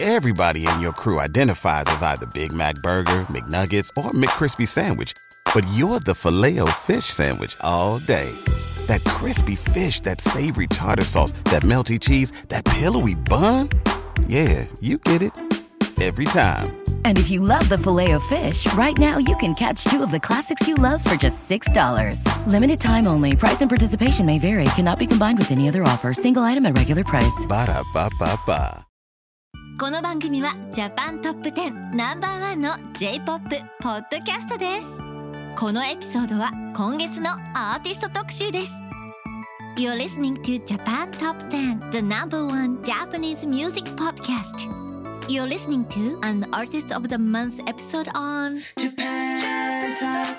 Everybody in your crew identifies as either Big Mac Burger, McNuggets, or McCrispy Sandwich. But you're the Filet-O-Fish Sandwich all day. That crispy fish, that savory tartar sauce, that melty cheese, that pillowy bun. Yeah, you get it. Every time. And if you love the Filet-O-Fish, right now you can catch two of the classics you love for just $6. Limited time only. Price and participation may vary. Cannot be combined with any other offer. Single item at regular price. Ba-da-ba-ba-ba. この番組はジャパントップ10ナンバーワンの J-POP ポッドキャストです。このエピソードは今月のアーティスト特集です。You're listening to Japan Top 10, the number one Japanese music podcast. You're listening to an Artist of the Month episode on Japan Top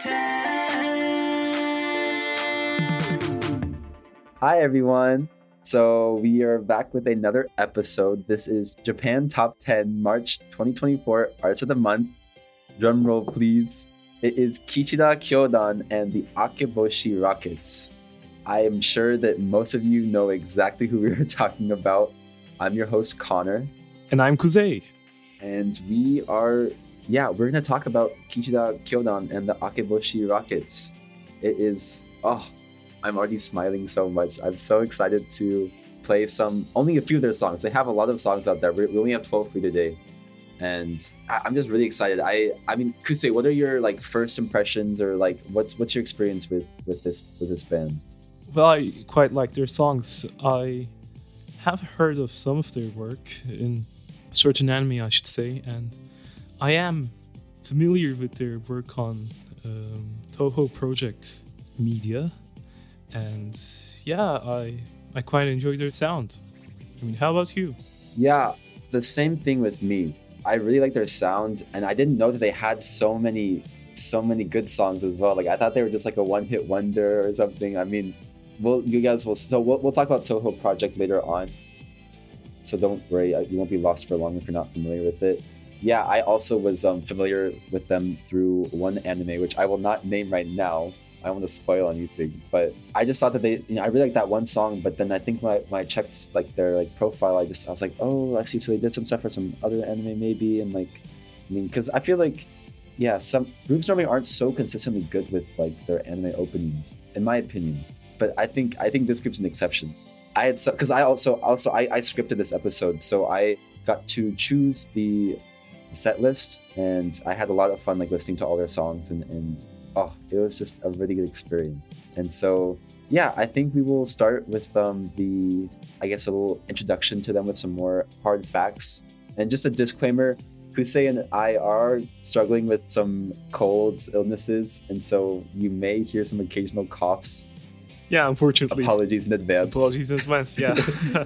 10. Hi everyone. So we are back with another episode. This is Japan Top 10 March 2024 Arts of the Month. Drum roll please. It is Kichida Kyodan and the Akeboshi Rockets. I am sure that most of you know exactly who we are talking about. I'm your host Connor. And I'm Kuzei. And we're going to talk about Kichida Kyodan and the Akeboshi Rockets. It is, I'm already smiling so much. I'm so excited to play only a few of their songs. They have a lot of songs out there. We only have 12 for today. And I'm just really excited. I mean, Kusei, what are your first impressions or what's your experience with this band? Well, I quite like their songs. I have heard of some of their work in certain anime, I should say, and I am familiar with their work on Toho Project Media. And yeah, I quite enjoy their sound. I mean, how about you? Yeah, the same thing with me. I really like their sound, and I didn't know that they had so many good songs as well. I thought they were just a one-hit wonder or something. I mean, we'll talk about Toho Project later on. So don't worry, you won't be lost for long if you're not familiar with it. Yeah, I also was familiar with them through one anime, which I will not name right now. I don't want to spoil anything, but I just thought that I really like that one song. But then I think when I checked their profile, I was like, oh, actually, so they did some stuff for some other anime maybe, and because I feel some groups normally aren't so consistently good with their anime openings, in my opinion. But I think this group's an exception. I scripted this episode, so I got to choose the set list, and I had a lot of fun listening to all their songs and it was just a really good experience. And so, yeah, I think we will start with a little introduction to them with some more hard facts. And just a disclaimer, Kusei and I are struggling with some colds, illnesses, and so you may hear some occasional coughs. Yeah, unfortunately. Apologies in advance. Yeah.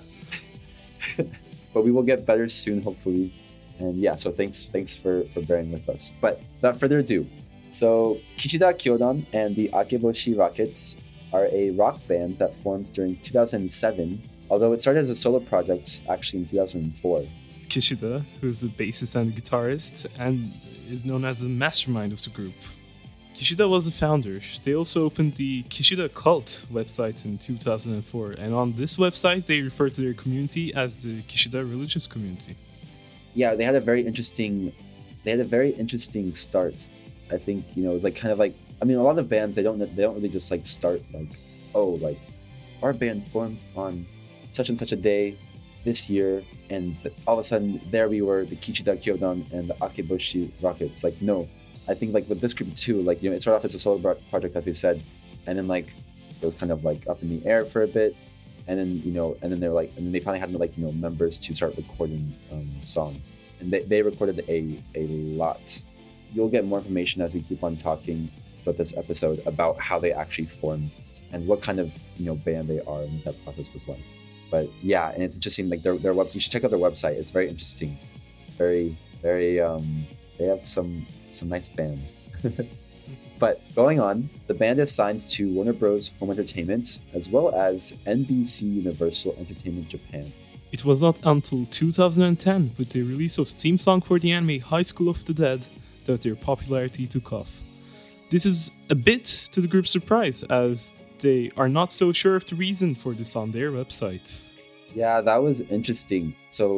But we will get better soon, hopefully. And yeah, so thanks for bearing with us. But without further ado, so Kichida Kyodan and the Akeboshi Rockets are a rock band that formed during 2007, although it started as a solo project actually in 2004. Kishida, who is the bassist and guitarist, and is known as the mastermind of the group. Kishida was the founder. They also opened the Kishida Cult website in 2004, and on this website they refer to their community as the Kishida religious community. Yeah, they had a very interesting start. I think, it was a lot of bands, they don't really just start our band formed on such and such a day this year, and all of a sudden there we were, the Kichida Kyodan and the Akeboshi Rockets. No, I think with this group too, it started off as a solo project, like we said, and then it was kind of up in the air for a bit, and then and then they finally had members to start recording songs, and they recorded a lot. You'll get more information as we keep on talking about this episode about how they actually formed and what kind of band they are and what that process was like. But yeah, and it's interesting, their website. You should check out their website. It's very interesting. Very, very. They have some nice fans. But going on, the band is signed to Warner Bros. Home Entertainment as well as NBC Universal Entertainment Japan. It was not until 2010, with the release of theme song for the anime High School of the Dead, that their popularity took off. This is a bit to the group's surprise, as they are not so sure of the reason for this on their website. Yeah, that was interesting. So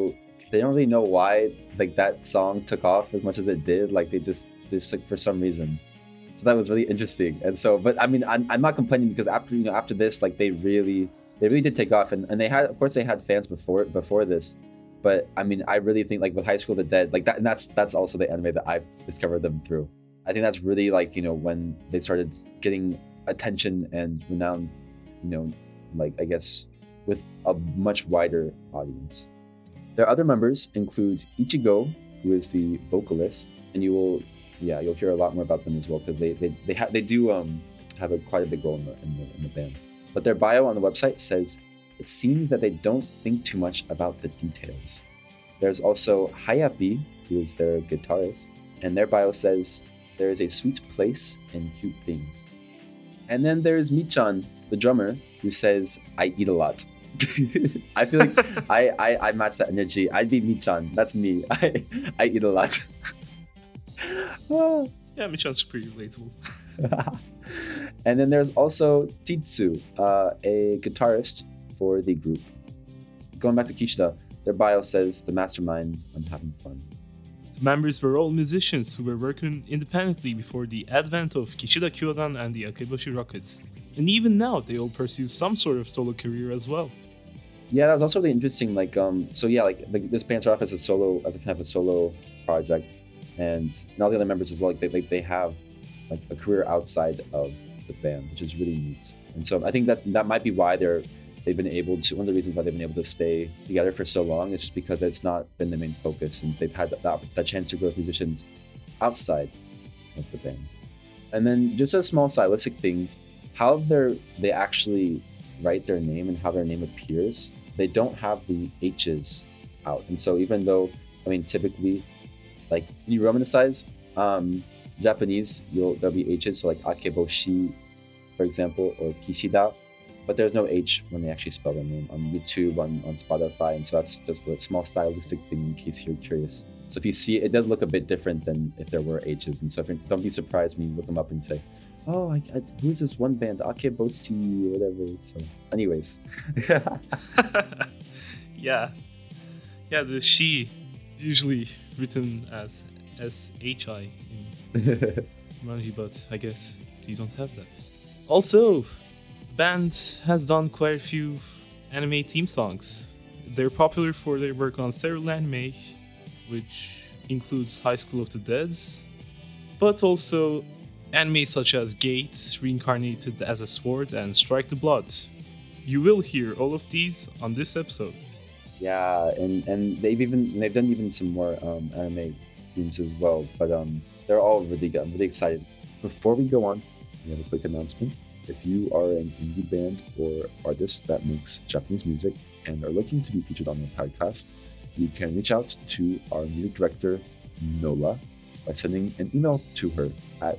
they don't really know why like that song took off as much as it did. Like they just like for some reason. So that was really interesting. And so, but I mean, I'm not complaining because after this, like they really did take off, and they had, of course, they had fans before this. But I mean, I really think like with High School of the Dead, like that, and that's also the anime that I've discovered them through. I think that's really like, when they started getting attention and renown, like I guess with a much wider audience. Their other members include Ichigo, who is the vocalist, and you'll hear a lot more about them as well because they do have quite a big role in the band. But their bio on the website says, it seems that they don't think too much about the details. There's also Hayapi, who is their guitarist, and their bio says, there is a sweet place and cute things. And then there's Michan, the drummer, who says, I eat a lot. I feel like I match that energy. I'd be Michan. That's me. I eat a lot. Yeah, Michan's pretty relatable. And then there's also Titsu, a guitarist for the group. Going back to Kishida, their bio says, the mastermind, I'm having fun. The members were all musicians who were working independently before the advent of Kishida Kyodan and the Akeboshi Rockets. And even now, they all pursue some sort of solo career as well. Yeah, that was also really interesting. Like, this band started off as a kind of a solo project, and all the other members as well. Like, they have like a career outside of the band, which is really neat. And so I think that might be why they've been able to. One of the reasons why they've been able to stay together for so long is just because it's not been the main focus, and they've had that chance to grow with musicians outside of the band. And then just a small stylistic thing, how they actually write their name and how their name appears. They don't have the H's out, and so even though, I mean, typically, like when you romanize Japanese, there'll be H's, so like Akeboshi, for example, or Kishida, but there's no H when they actually spell their name on YouTube, on Spotify, and so that's just a small stylistic thing in case you're curious. So if you see it, it does look a bit different than if there were H's, and so don't be surprised when you look them up and say, oh, who's this one band, Akeboshi, or whatever. So anyways. Yeah, the she usually written as SHI in Manji, but I guess these don't have that. Also, the band has done quite a few anime theme songs. They're popular for their work on several anime, which includes High School of the Dead, but also anime such as Gate, Reincarnated as a Sword, and Strike the Blood. You will hear all of these on this episode. Yeah, and they've done even some more anime themes as well, but they're all really good. I'm really excited. Before we go on, we have a quick announcement. If you are an indie band or artist that makes Japanese music and are looking to be featured on the podcast, you can reach out to our music director, Nola, by sending an email to her at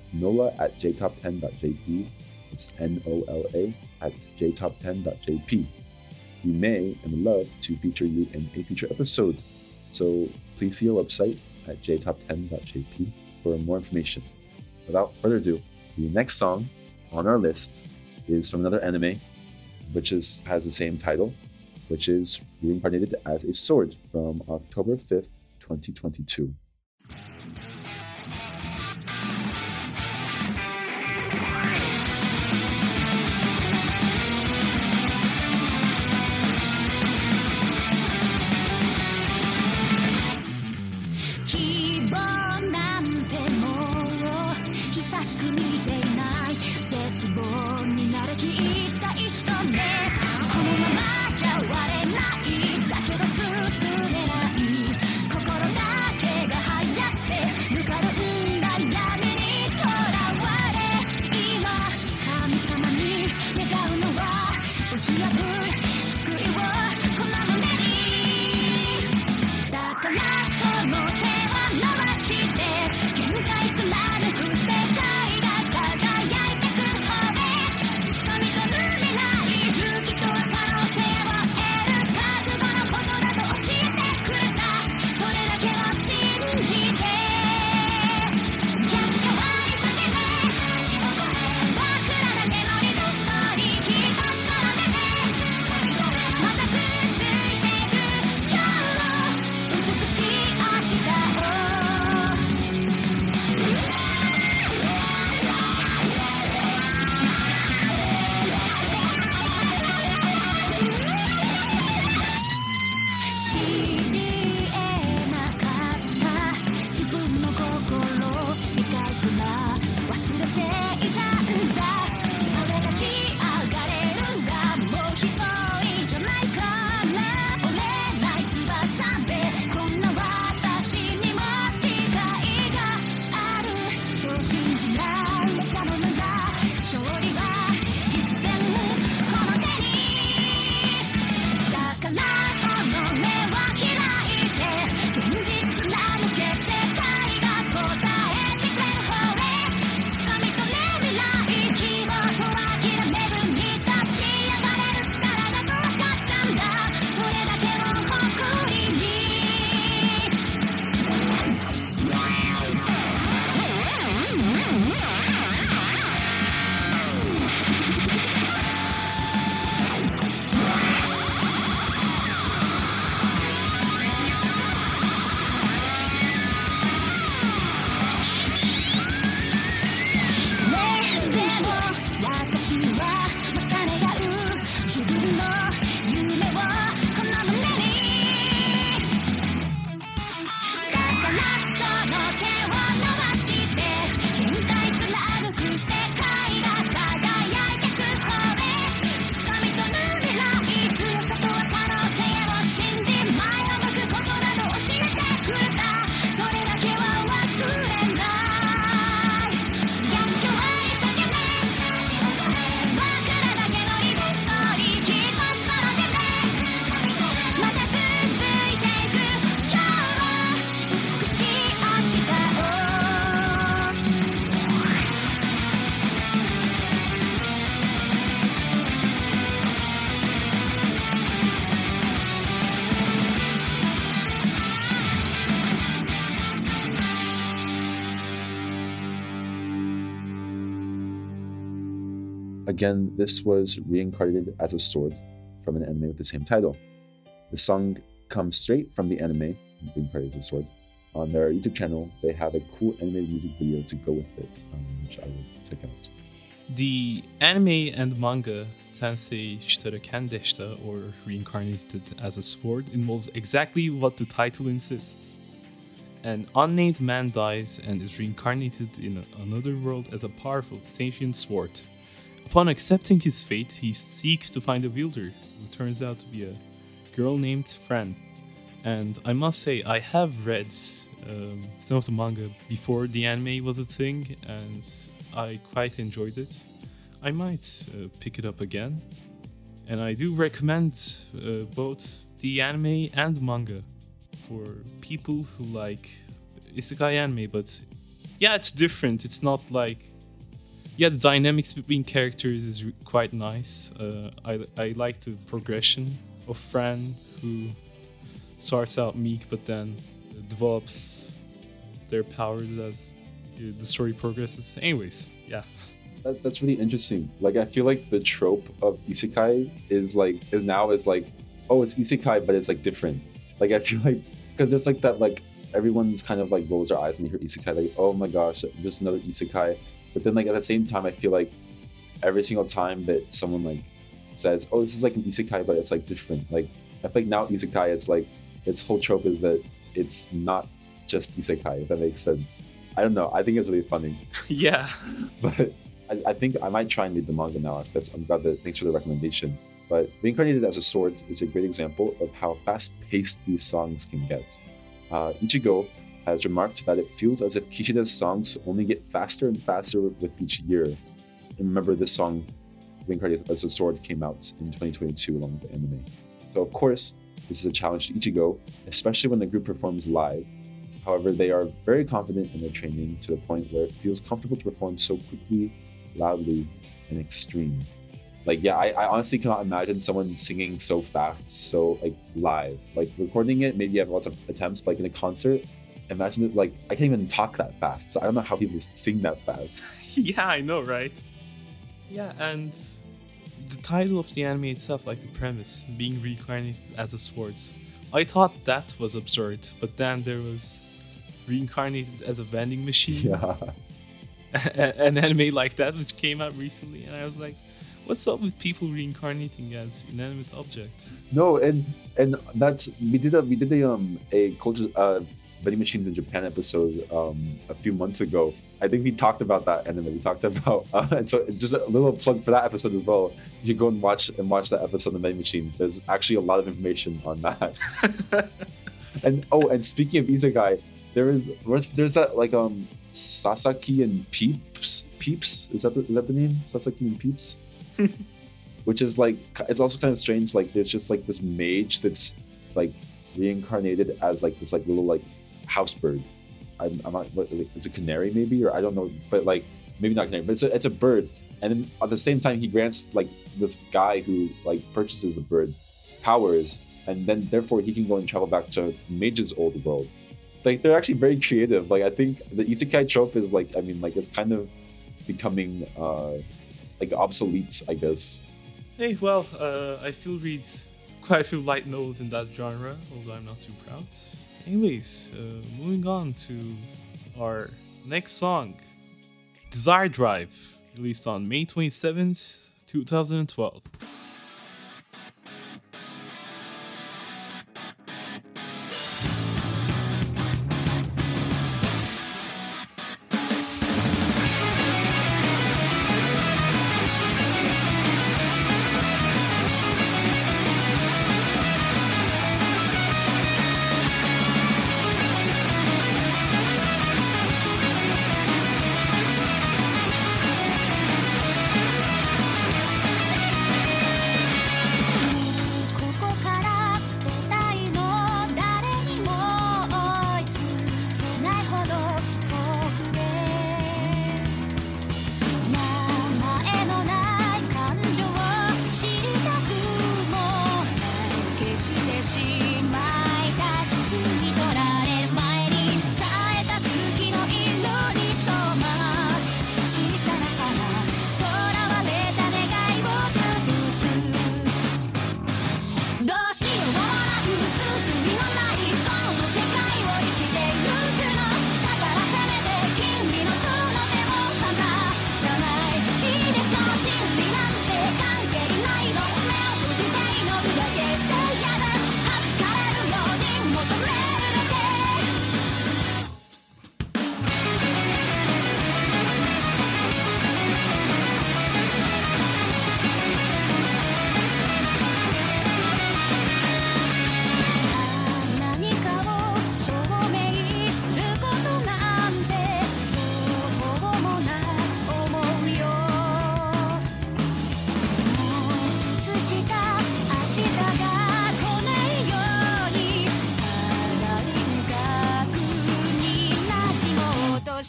nola@jtop10.jp. It's NOLA at jtop10.jp. We may and would love to feature you in a future episode. So please see our website at jtop10.jp for more information. Without further ado, the next song on our list is from another anime, which has the same title, which is Reincarnated as a Sword from October 5th, 2022. 「 Again, this was reincarnated as a sword from an anime with the same title. The song comes straight from the anime, reincarnated as a sword. On their YouTube channel, they have a cool animated music video to go with it, which I will check out. The anime and manga Tensei Shitara Kandeshita, or Reincarnated as a Sword, involves exactly what the title insists. An unnamed man dies and is reincarnated in another world as a powerful sentient sword. Upon accepting his fate, he seeks to find a wielder, who turns out to be a girl named Fran. And I must say, I have read some of the manga before the anime was a thing, and I quite enjoyed it. I might pick it up again. And I do recommend both the anime and manga for people who like isekai anime, but yeah, it's different. It's not like... Yeah, the dynamics between characters is quite nice. I like the progression of Fran, who starts out meek but then develops their powers as the story progresses. Anyways, yeah. That's really interesting. Like, I feel like the trope of isekai is now oh, it's isekai, but it's like different. Like, I feel like, because there's like that, like, everyone's kind of like rolls their eyes when you hear isekai, like, oh my gosh, just another isekai. But then, like, at the same time, I feel like every single time that someone like says, oh, this is like an isekai, but it's like different. Like, I feel like now isekai, it's like, its whole trope is that it's not just isekai, if that makes sense. I don't know. I think it's really funny. Yeah. But I think I might try and read the manga now. I'm glad that, thanks for the recommendation. But Reincarnated as a Sword is a great example of how fast-paced these songs can get. Ichigo has remarked that it feels as if Kishida's songs only get faster and faster with each year. And remember, this song, Reincarnated as a Sword, came out in 2022 along with the anime. So of course, this is a challenge to Ichigo, especially when the group performs live. However, they are very confident in their training to the point where it feels comfortable to perform so quickly, loudly, and extreme. Like, yeah, I honestly cannot imagine someone singing so fast, so like live. Like, recording it, maybe you have lots of attempts, but like in a concert, imagine it, like, I can't even talk that fast, so I don't know how people sing that fast. Yeah, I know, right? Yeah, and the title of the anime itself, like the premise, being reincarnated as a sword, I thought that was absurd, but then there was reincarnated as a vending machine. Yeah. An anime like that which came out recently, and I was like, what's up with people reincarnating as inanimate objects? No, and that's we did a culture vending machines in Japan episode a few months ago. I think we talked about that anime. We talked about and so just a little plug for that episode as well. You can go and watch that episode of vending machines. There's actually a lot of information on that. and speaking of isekai, there's that like Sasaki and Peeps. Is that the name? Sasaki and Peeps? Which is like, it's also kind of strange. Like, there's just like this mage that's like reincarnated as like this like little like house bird. I'm not. It's a canary maybe, or I don't know. But like maybe not canary. But it's a bird. And then at the same time, he grants like this guy who like purchases the bird powers, and then therefore he can go and travel back to mage's old world. Like, they're actually very creative. Like, I think the isekai trope is like, I mean, like, it's kind of becoming like obsolete, I guess. Hey, well, I still read quite a few light novels in that genre, although I'm not too proud. Anyways, moving on to our next song, Desire Drive, released on May 27th, 2012.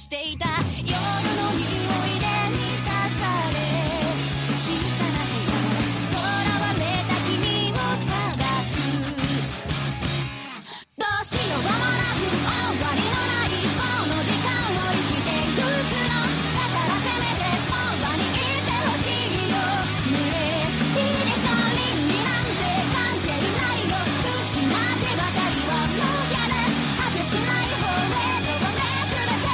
していた夜の匂いで満たされ小さな部屋とらわれた君を探すどうしようもなく終わりのないこの時間を生きてゆくのだからせめてそばにいてほしいよねえいいでしょ倫理なんて関係ないよ失ってばかりはもうやれ果てしないフォレードをめくれて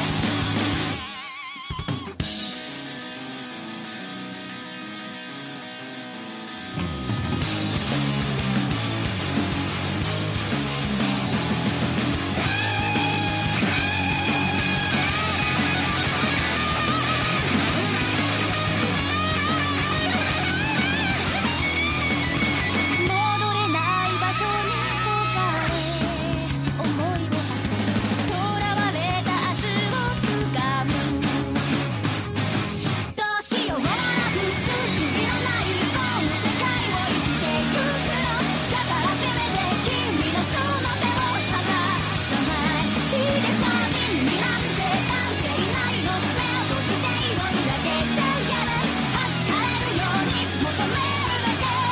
戻れない場所に焦がれ思いを馳せ囚われた明日をつかむどうしようもなく救いのないこの世界を生きてゆくのだからせめて君のその手を離さないいいでしょ倫理なんて関係ないの目を閉じて祈りだけじゃやれ預かれるように求めるだけ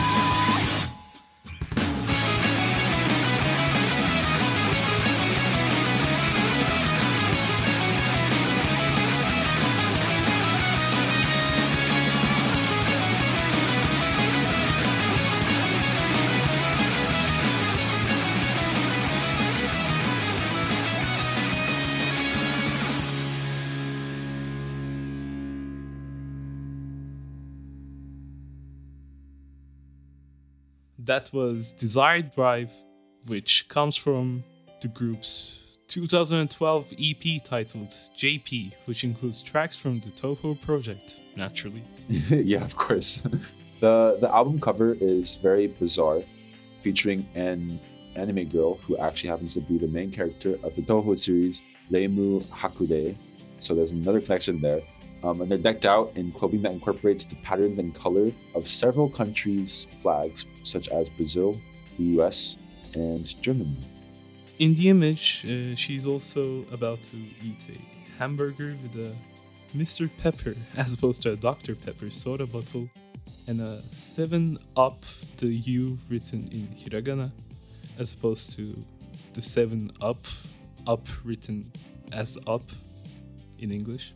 That was Desired Drive, which comes from the group's 2012 EP titled JP, which includes tracks from the Toho project, naturally. Yeah, of course. The album cover is very bizarre, featuring an anime girl who actually happens to be the main character of the Toho series, Reimu Hakude. So there's another connection there. And they're decked out in clothing that incorporates the patterns and color of several countries' flags, such as Brazil, the US, and Germany. In the image, she's also about to eat a hamburger with a Mr. Pepper as opposed to a Dr. Pepper soda bottle and a 7-Up, the U written in hiragana, as opposed to the 7-Up, up written as up in English.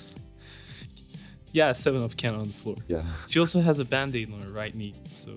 Yeah, 7-Up can on the floor. Yeah. She also has a band-aid on her right knee, so...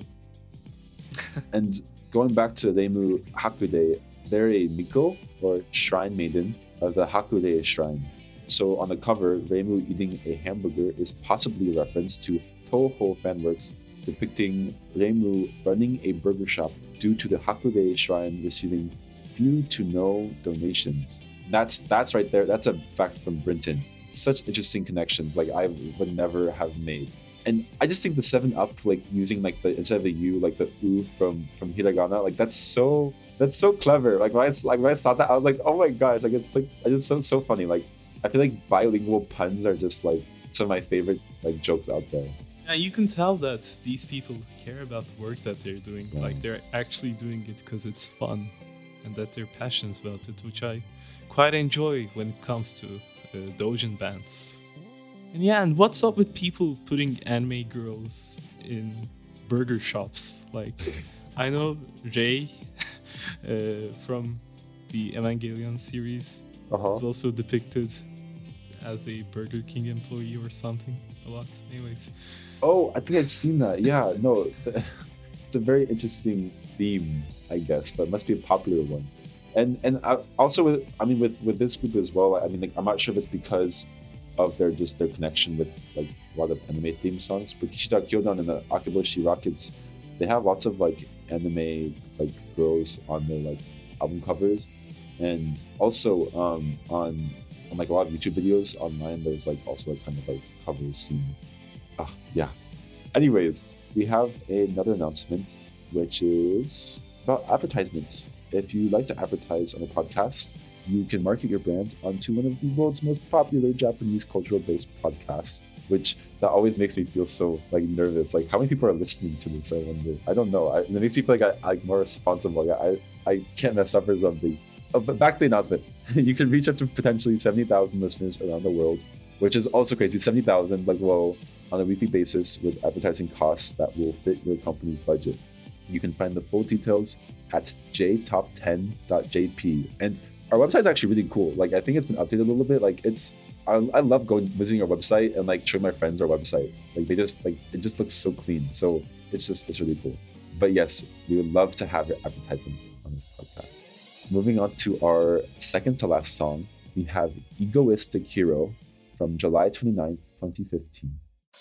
And going back to Reimu Hakude, they're a Miko, or shrine maiden, of the Hakude shrine. So on the cover, Reimu eating a hamburger is possibly a reference to Toho fanworks depicting Reimu running a burger shop due to the Hakude shrine receiving few to no donations. That's right there. That's a fact from Brinton. Such interesting connections, like I would never have made. And I just think the 7-Up, like using like the instead of the U, like the U from hiragana, like that's so clever. Like when I saw that, I was like, oh my gosh, like it's just so funny. Like I feel like bilingual puns are just like some of my favorite like jokes out there. Yeah, you can tell that these people care about the work that they're doing. Yeah. Like they're actually doing it because it's fun, and that they're passionate about it, which I quite enjoy when it comes to doujin bands. And yeah, and what's up with people putting anime girls in burger shops? Like, I know Rei from the Evangelion series is also depicted as a Burger King employee or something a lot. Anyways. Oh, I think I've seen that. Yeah, no, it's a very interesting theme, I guess, but it must be a popular one. And also with this group as well. I mean, like, I'm not sure if it's because of their connection with like a lot of anime theme songs. But Kishida Kyodan and the Akiboshi Rockets, they have lots of like anime like girls on their like album covers, and also on like a lot of YouTube videos online. There's like also like kind of like covers scene. Yeah. Anyways, we have another announcement, which is about advertisements. If you like to advertise on a podcast, you can market your brand onto one of the world's most popular Japanese cultural-based podcasts, which that always makes me feel so like nervous. Like, how many people are listening to this? I wonder. I don't know. It makes me feel like I'm more responsible. I can't mess up or something. But back to the announcement. You can reach up to potentially 70,000 listeners around the world, which is also crazy. 70,000, like, whoa, on a weekly basis with advertising costs that will fit your company's budget. You can find the full details at jtop10.jp. And our website is actually really cool. Like, I think it's been updated a little bit. Like, I love visiting our website and like showing my friends our website. Like, it just looks so clean. So it's really cool. But yes, we would love to have your advertisements on this podcast. Moving on to our second to last song, we have Egoistic Hero from July 29th, 2015.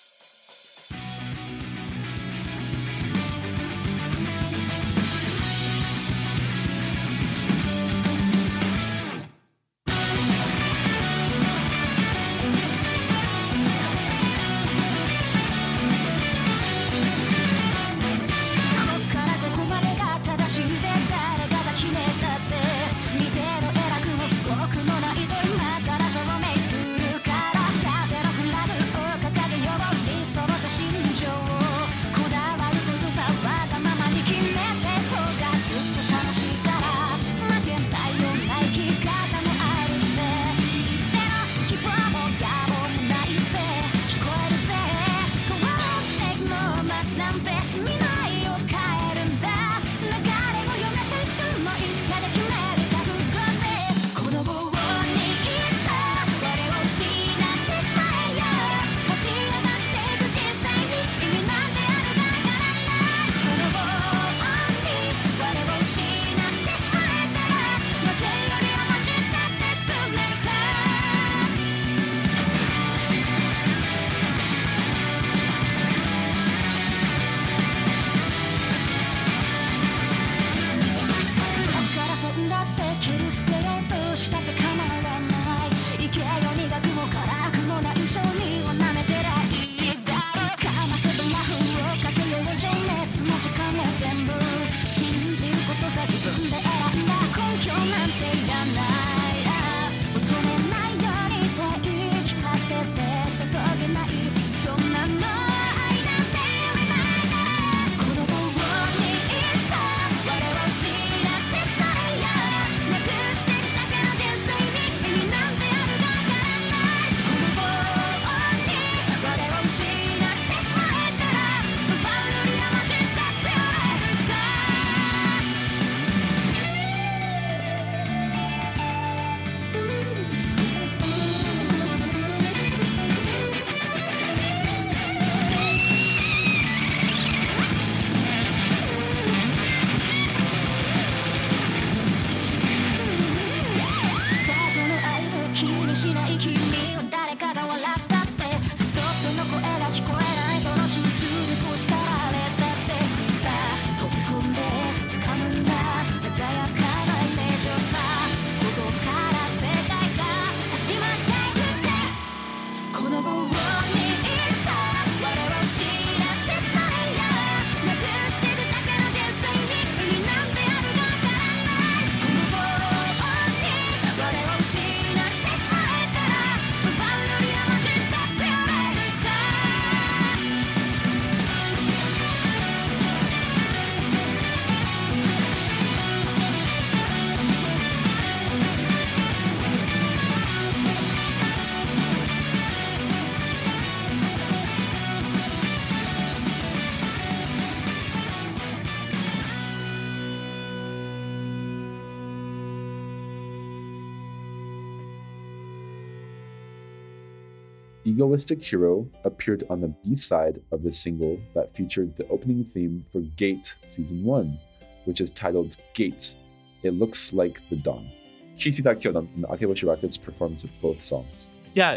'Egoistic Hero' appeared on the B-side of the single that featured the opening theme for Gate Season 1, which is titled Gate. It looks like the dawn. Kishida Kyodan and Akeboshi Records performed both songs. Yeah,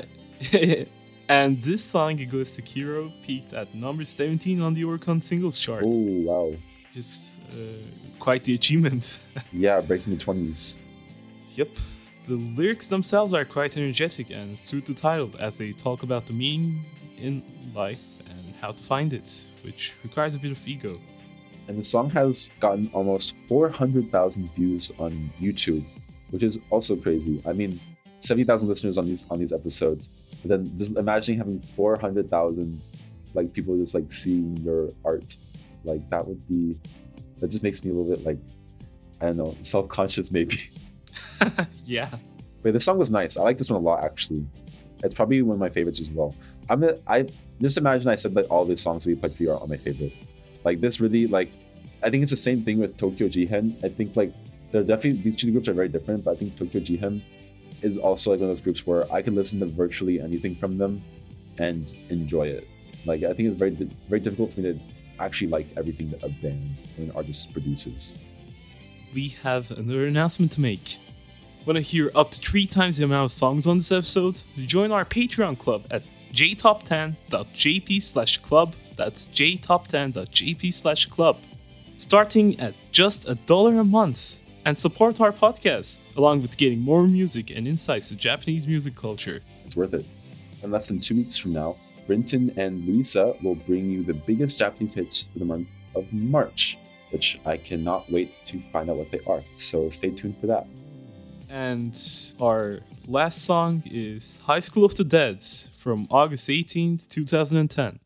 and this song, Egoistic Hero, peaked at number 17 on the Oricon singles chart. Oh, wow. Just quite the achievement. Yeah, breaking the 20s. Yep. The lyrics themselves are quite energetic and suit the title as they talk about the meaning in life and how to find it, which requires a bit of ego. And the song has gotten almost 400,000 views on YouTube, which is also crazy. I mean, 70,000 listeners on these episodes, but then just imagining having 400,000 like people just like seeing your art, like that just makes me a little bit like, I don't know, self-conscious maybe. Yeah. But this song was nice. I like this one a lot, actually. It's probably one of my favorites as well. I just imagine I said that all the songs we played for you are my favorite. Like this really, like, I think it's the same thing with Tokyo Jihen. I think like they're definitely, these two groups are very different, but I think Tokyo Jihen is also like one of those groups where I can listen to virtually anything from them and enjoy it. Like I think it's very difficult for me to actually like everything that a band or an artist produces. We have another announcement to make. Want to hear up to 3 times the amount of songs on this episode? Join our Patreon club at jtop10.jp/club. That's jtop10.jp/club. Starting at just $1 a month, and support our podcast, along with getting more music and insights to Japanese music culture. It's worth it. In less than 2 weeks from now, Brinton and Luisa will bring you the biggest Japanese hits for the month of March, which I cannot wait to find out what they are. So stay tuned for that. And our last song is High School of the Dead from August 18th, 2010.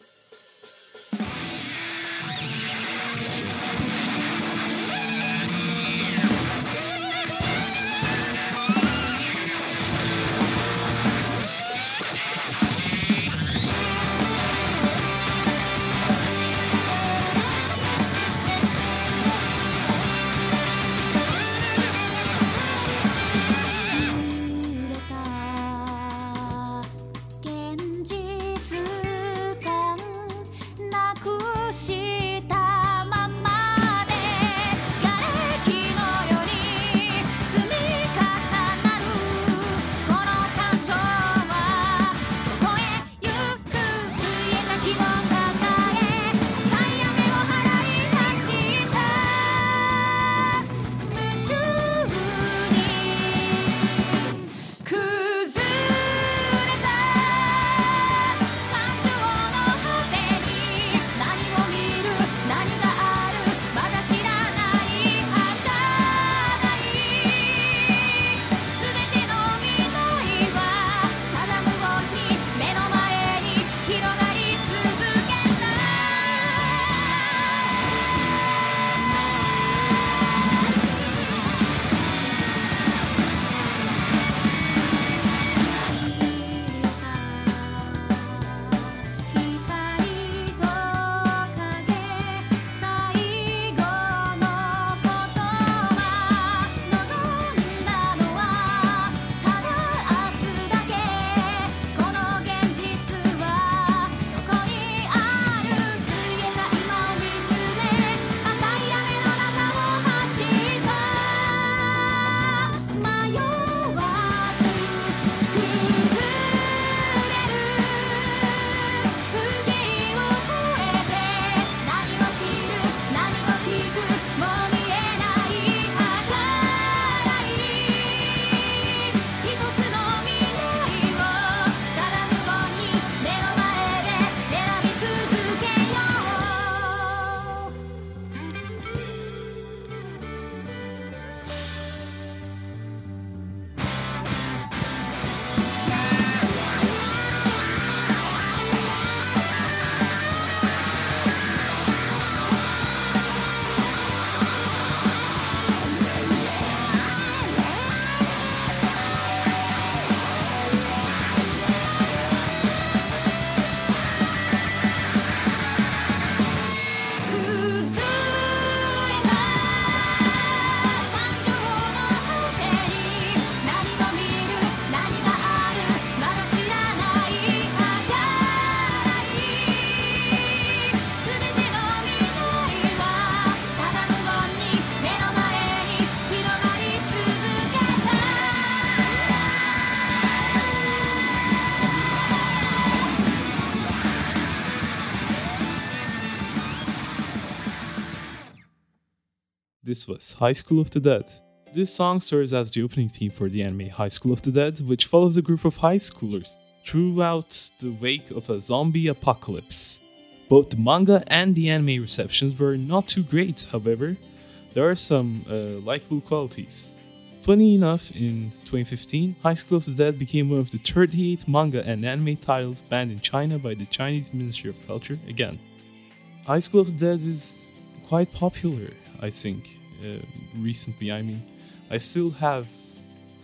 This was High School of the Dead. This song serves as the opening theme for the anime High School of the Dead, which follows a group of high schoolers throughout the wake of a zombie apocalypse. Both the manga and the anime receptions were not too great, however, there are some likable qualities. Funny enough, in 2015, High School of the Dead became one of the 38 manga and anime titles banned in China by the Chinese Ministry of Culture again. High School of the Dead is quite popular, I think, recently. I mean, I still have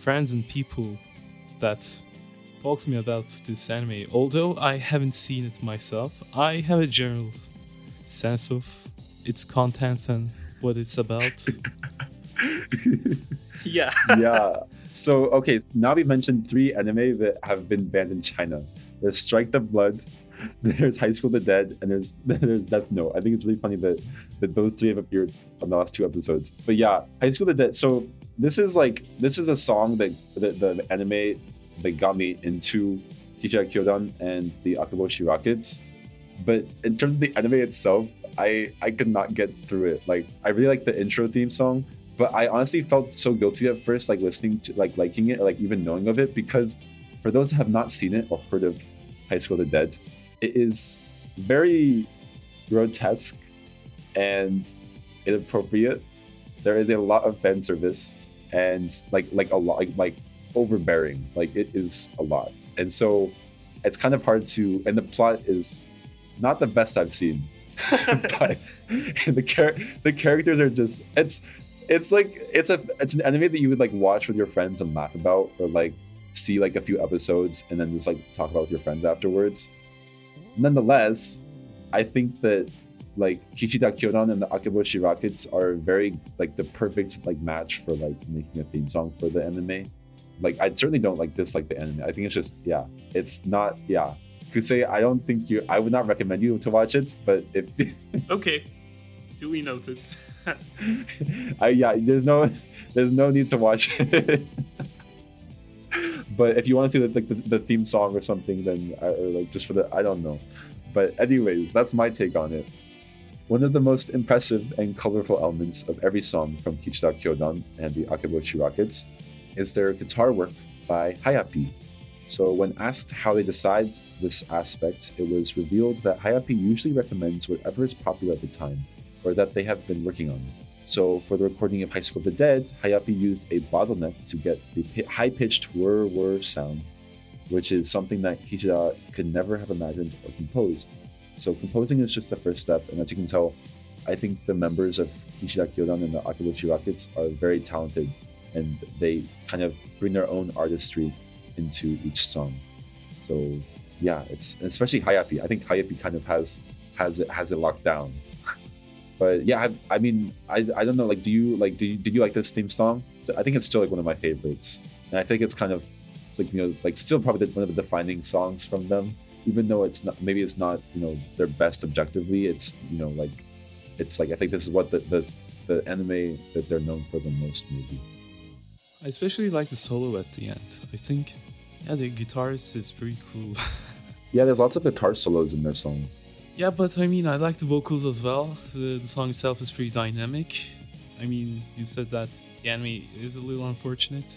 friends and people that talk to me about this anime. Although I haven't seen it myself, I have a general sense of its contents and what it's about. Yeah. Yeah. So, okay, now we mentioned 3 anime that have been banned in China. There's Strike the Blood, there's High School of the Dead, and there's Death Note. I think it's really funny that those 3 have appeared on the last 2 episodes. But yeah, High School of the Dead. So this is a song that the anime that got me into Kichida Kyodan and the Akaboshi Rockets. But in terms of the anime itself, I could not get through it. Like, I really like the intro theme song, but I honestly felt so guilty at first, like listening to, like liking it, or like even knowing of it, because for those who have not seen it or heard of High School of the Dead, it is very grotesque and inappropriate. There is a lot of fan service and like a lot like overbearing. Like, it is a lot, and so it's kind of hard to. And the plot is not the best I've seen, but the characters are just it's an anime that you would like watch with your friends and laugh about, or like see like a few episodes and then just like talk about with your friends afterwards. Nonetheless, I think that like Kichida Kyodan and the Akeboshi Rockets are very like the perfect like match for like making a theme song for the anime. Like, I certainly don't like dislike the anime. I think it's just it's not Kusei, I would not recommend you to watch it, but if Okay, duly noted. there's no need to watch it. But if you want to see the theme song or something, then or like just for the, I don't know. But anyways, that's my take on it. One of the most impressive and colorful elements of every song from Kichida Kyodan and the Akeboshi Rockets is their guitar work by Hayapi. So when asked how they decide this aspect, it was revealed that Hayapi usually recommends whatever is popular at the time, or that they have been working on. So for the recording of High School of the Dead, Hayapi used a bottleneck to get the high-pitched whir sound, which is something that Kichida could never have imagined or composed. So composing is just the first step, and as you can tell, I think the members of Kichida Kyodan and the Akeboshi Rockets are very talented, and they kind of bring their own artistry into each song. So yeah, it's especially Hayapi. I think Hayapi kind of has it locked down. But yeah, I mean, I don't know. Like, did you like this theme song? So I think it's still like one of my favorites, and I think it's like still probably one of the defining songs from them. Even though it's not their best objectively, it's I think this is what the anime that they're known for the most, maybe. I especially like the solo at the end. I think, the guitarist is pretty cool. Yeah, there's lots of guitar solos in their songs. Yeah, but I mean, I like the vocals as well. The song itself is pretty dynamic. I mean, you said that the anime is a little unfortunate.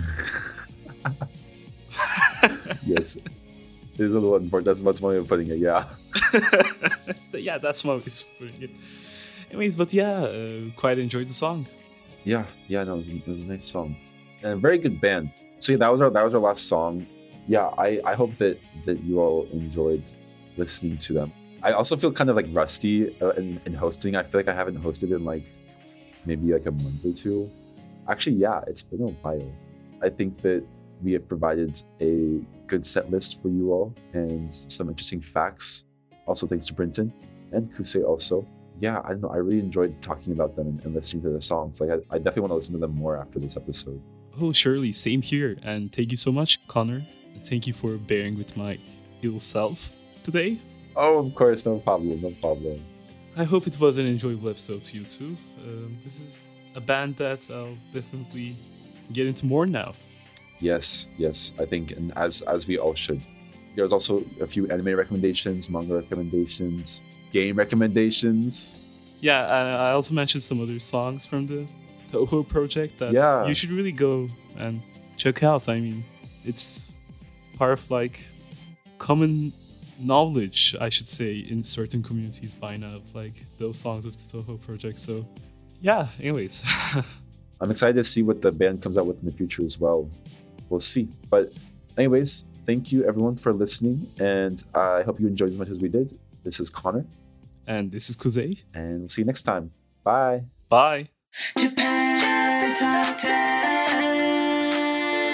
Yes, it is a little unfortunate. That's one way of putting it, yeah. Yeah, that's one way of putting it. Anyways, but quite enjoyed the song. No, it was a nice song. And a very good band. So yeah, that was our last song. Yeah, I hope that you all enjoyed listening to them. I also feel kind of like rusty in hosting. I feel like I haven't hosted in like maybe like a month or 2. Actually, yeah, it's been a while. I think that we have provided a good set list for you all and some interesting facts. Also thanks to Brinton and Kusei also. Yeah, I don't know. I really enjoyed talking about them and listening to their songs. Like, I definitely want to listen to them more after this episode. Oh, surely. Same here. And thank you so much, Connor. And thank you for bearing with my ill self today. Oh, of course. No problem. I hope it was an enjoyable episode to you too. This is a band that I'll definitely get into more now. Yes. I think, and as we all should. There's also a few anime recommendations, manga recommendations, game recommendations. Yeah, I also mentioned some other songs from the Toho project that you should really go and check out. I mean, it's part of like common knowledge, I should say, in certain communities by now, like those songs of the Toho project. So yeah, anyways. I'm excited to see what the band comes out with in the future as well. We'll see. But anyways, thank you everyone for listening, and I hope you enjoyed as much as we did. This is Connor. And this is Kusei. And we'll see you next time. Bye. Bye. Japan Top 10.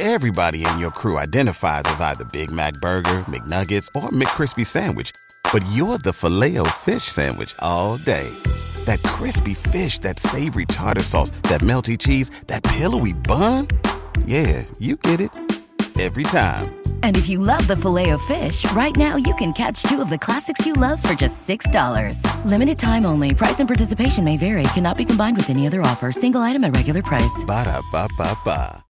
Everybody in your crew identifies as either Big Mac Burger, McNuggets, or McCrispy Sandwich. But you're the Filet-O-Fish Sandwich all day. That crispy fish, that savory tartar sauce, that melty cheese, that pillowy bun. Yeah, you get it. Every time. And if you love the Filet-O-Fish, right now you can catch two of the classics you love for just $6. Limited time only. Price and participation may vary. Cannot be combined with any other offer. Single item at regular price. Ba-da-ba-ba-ba.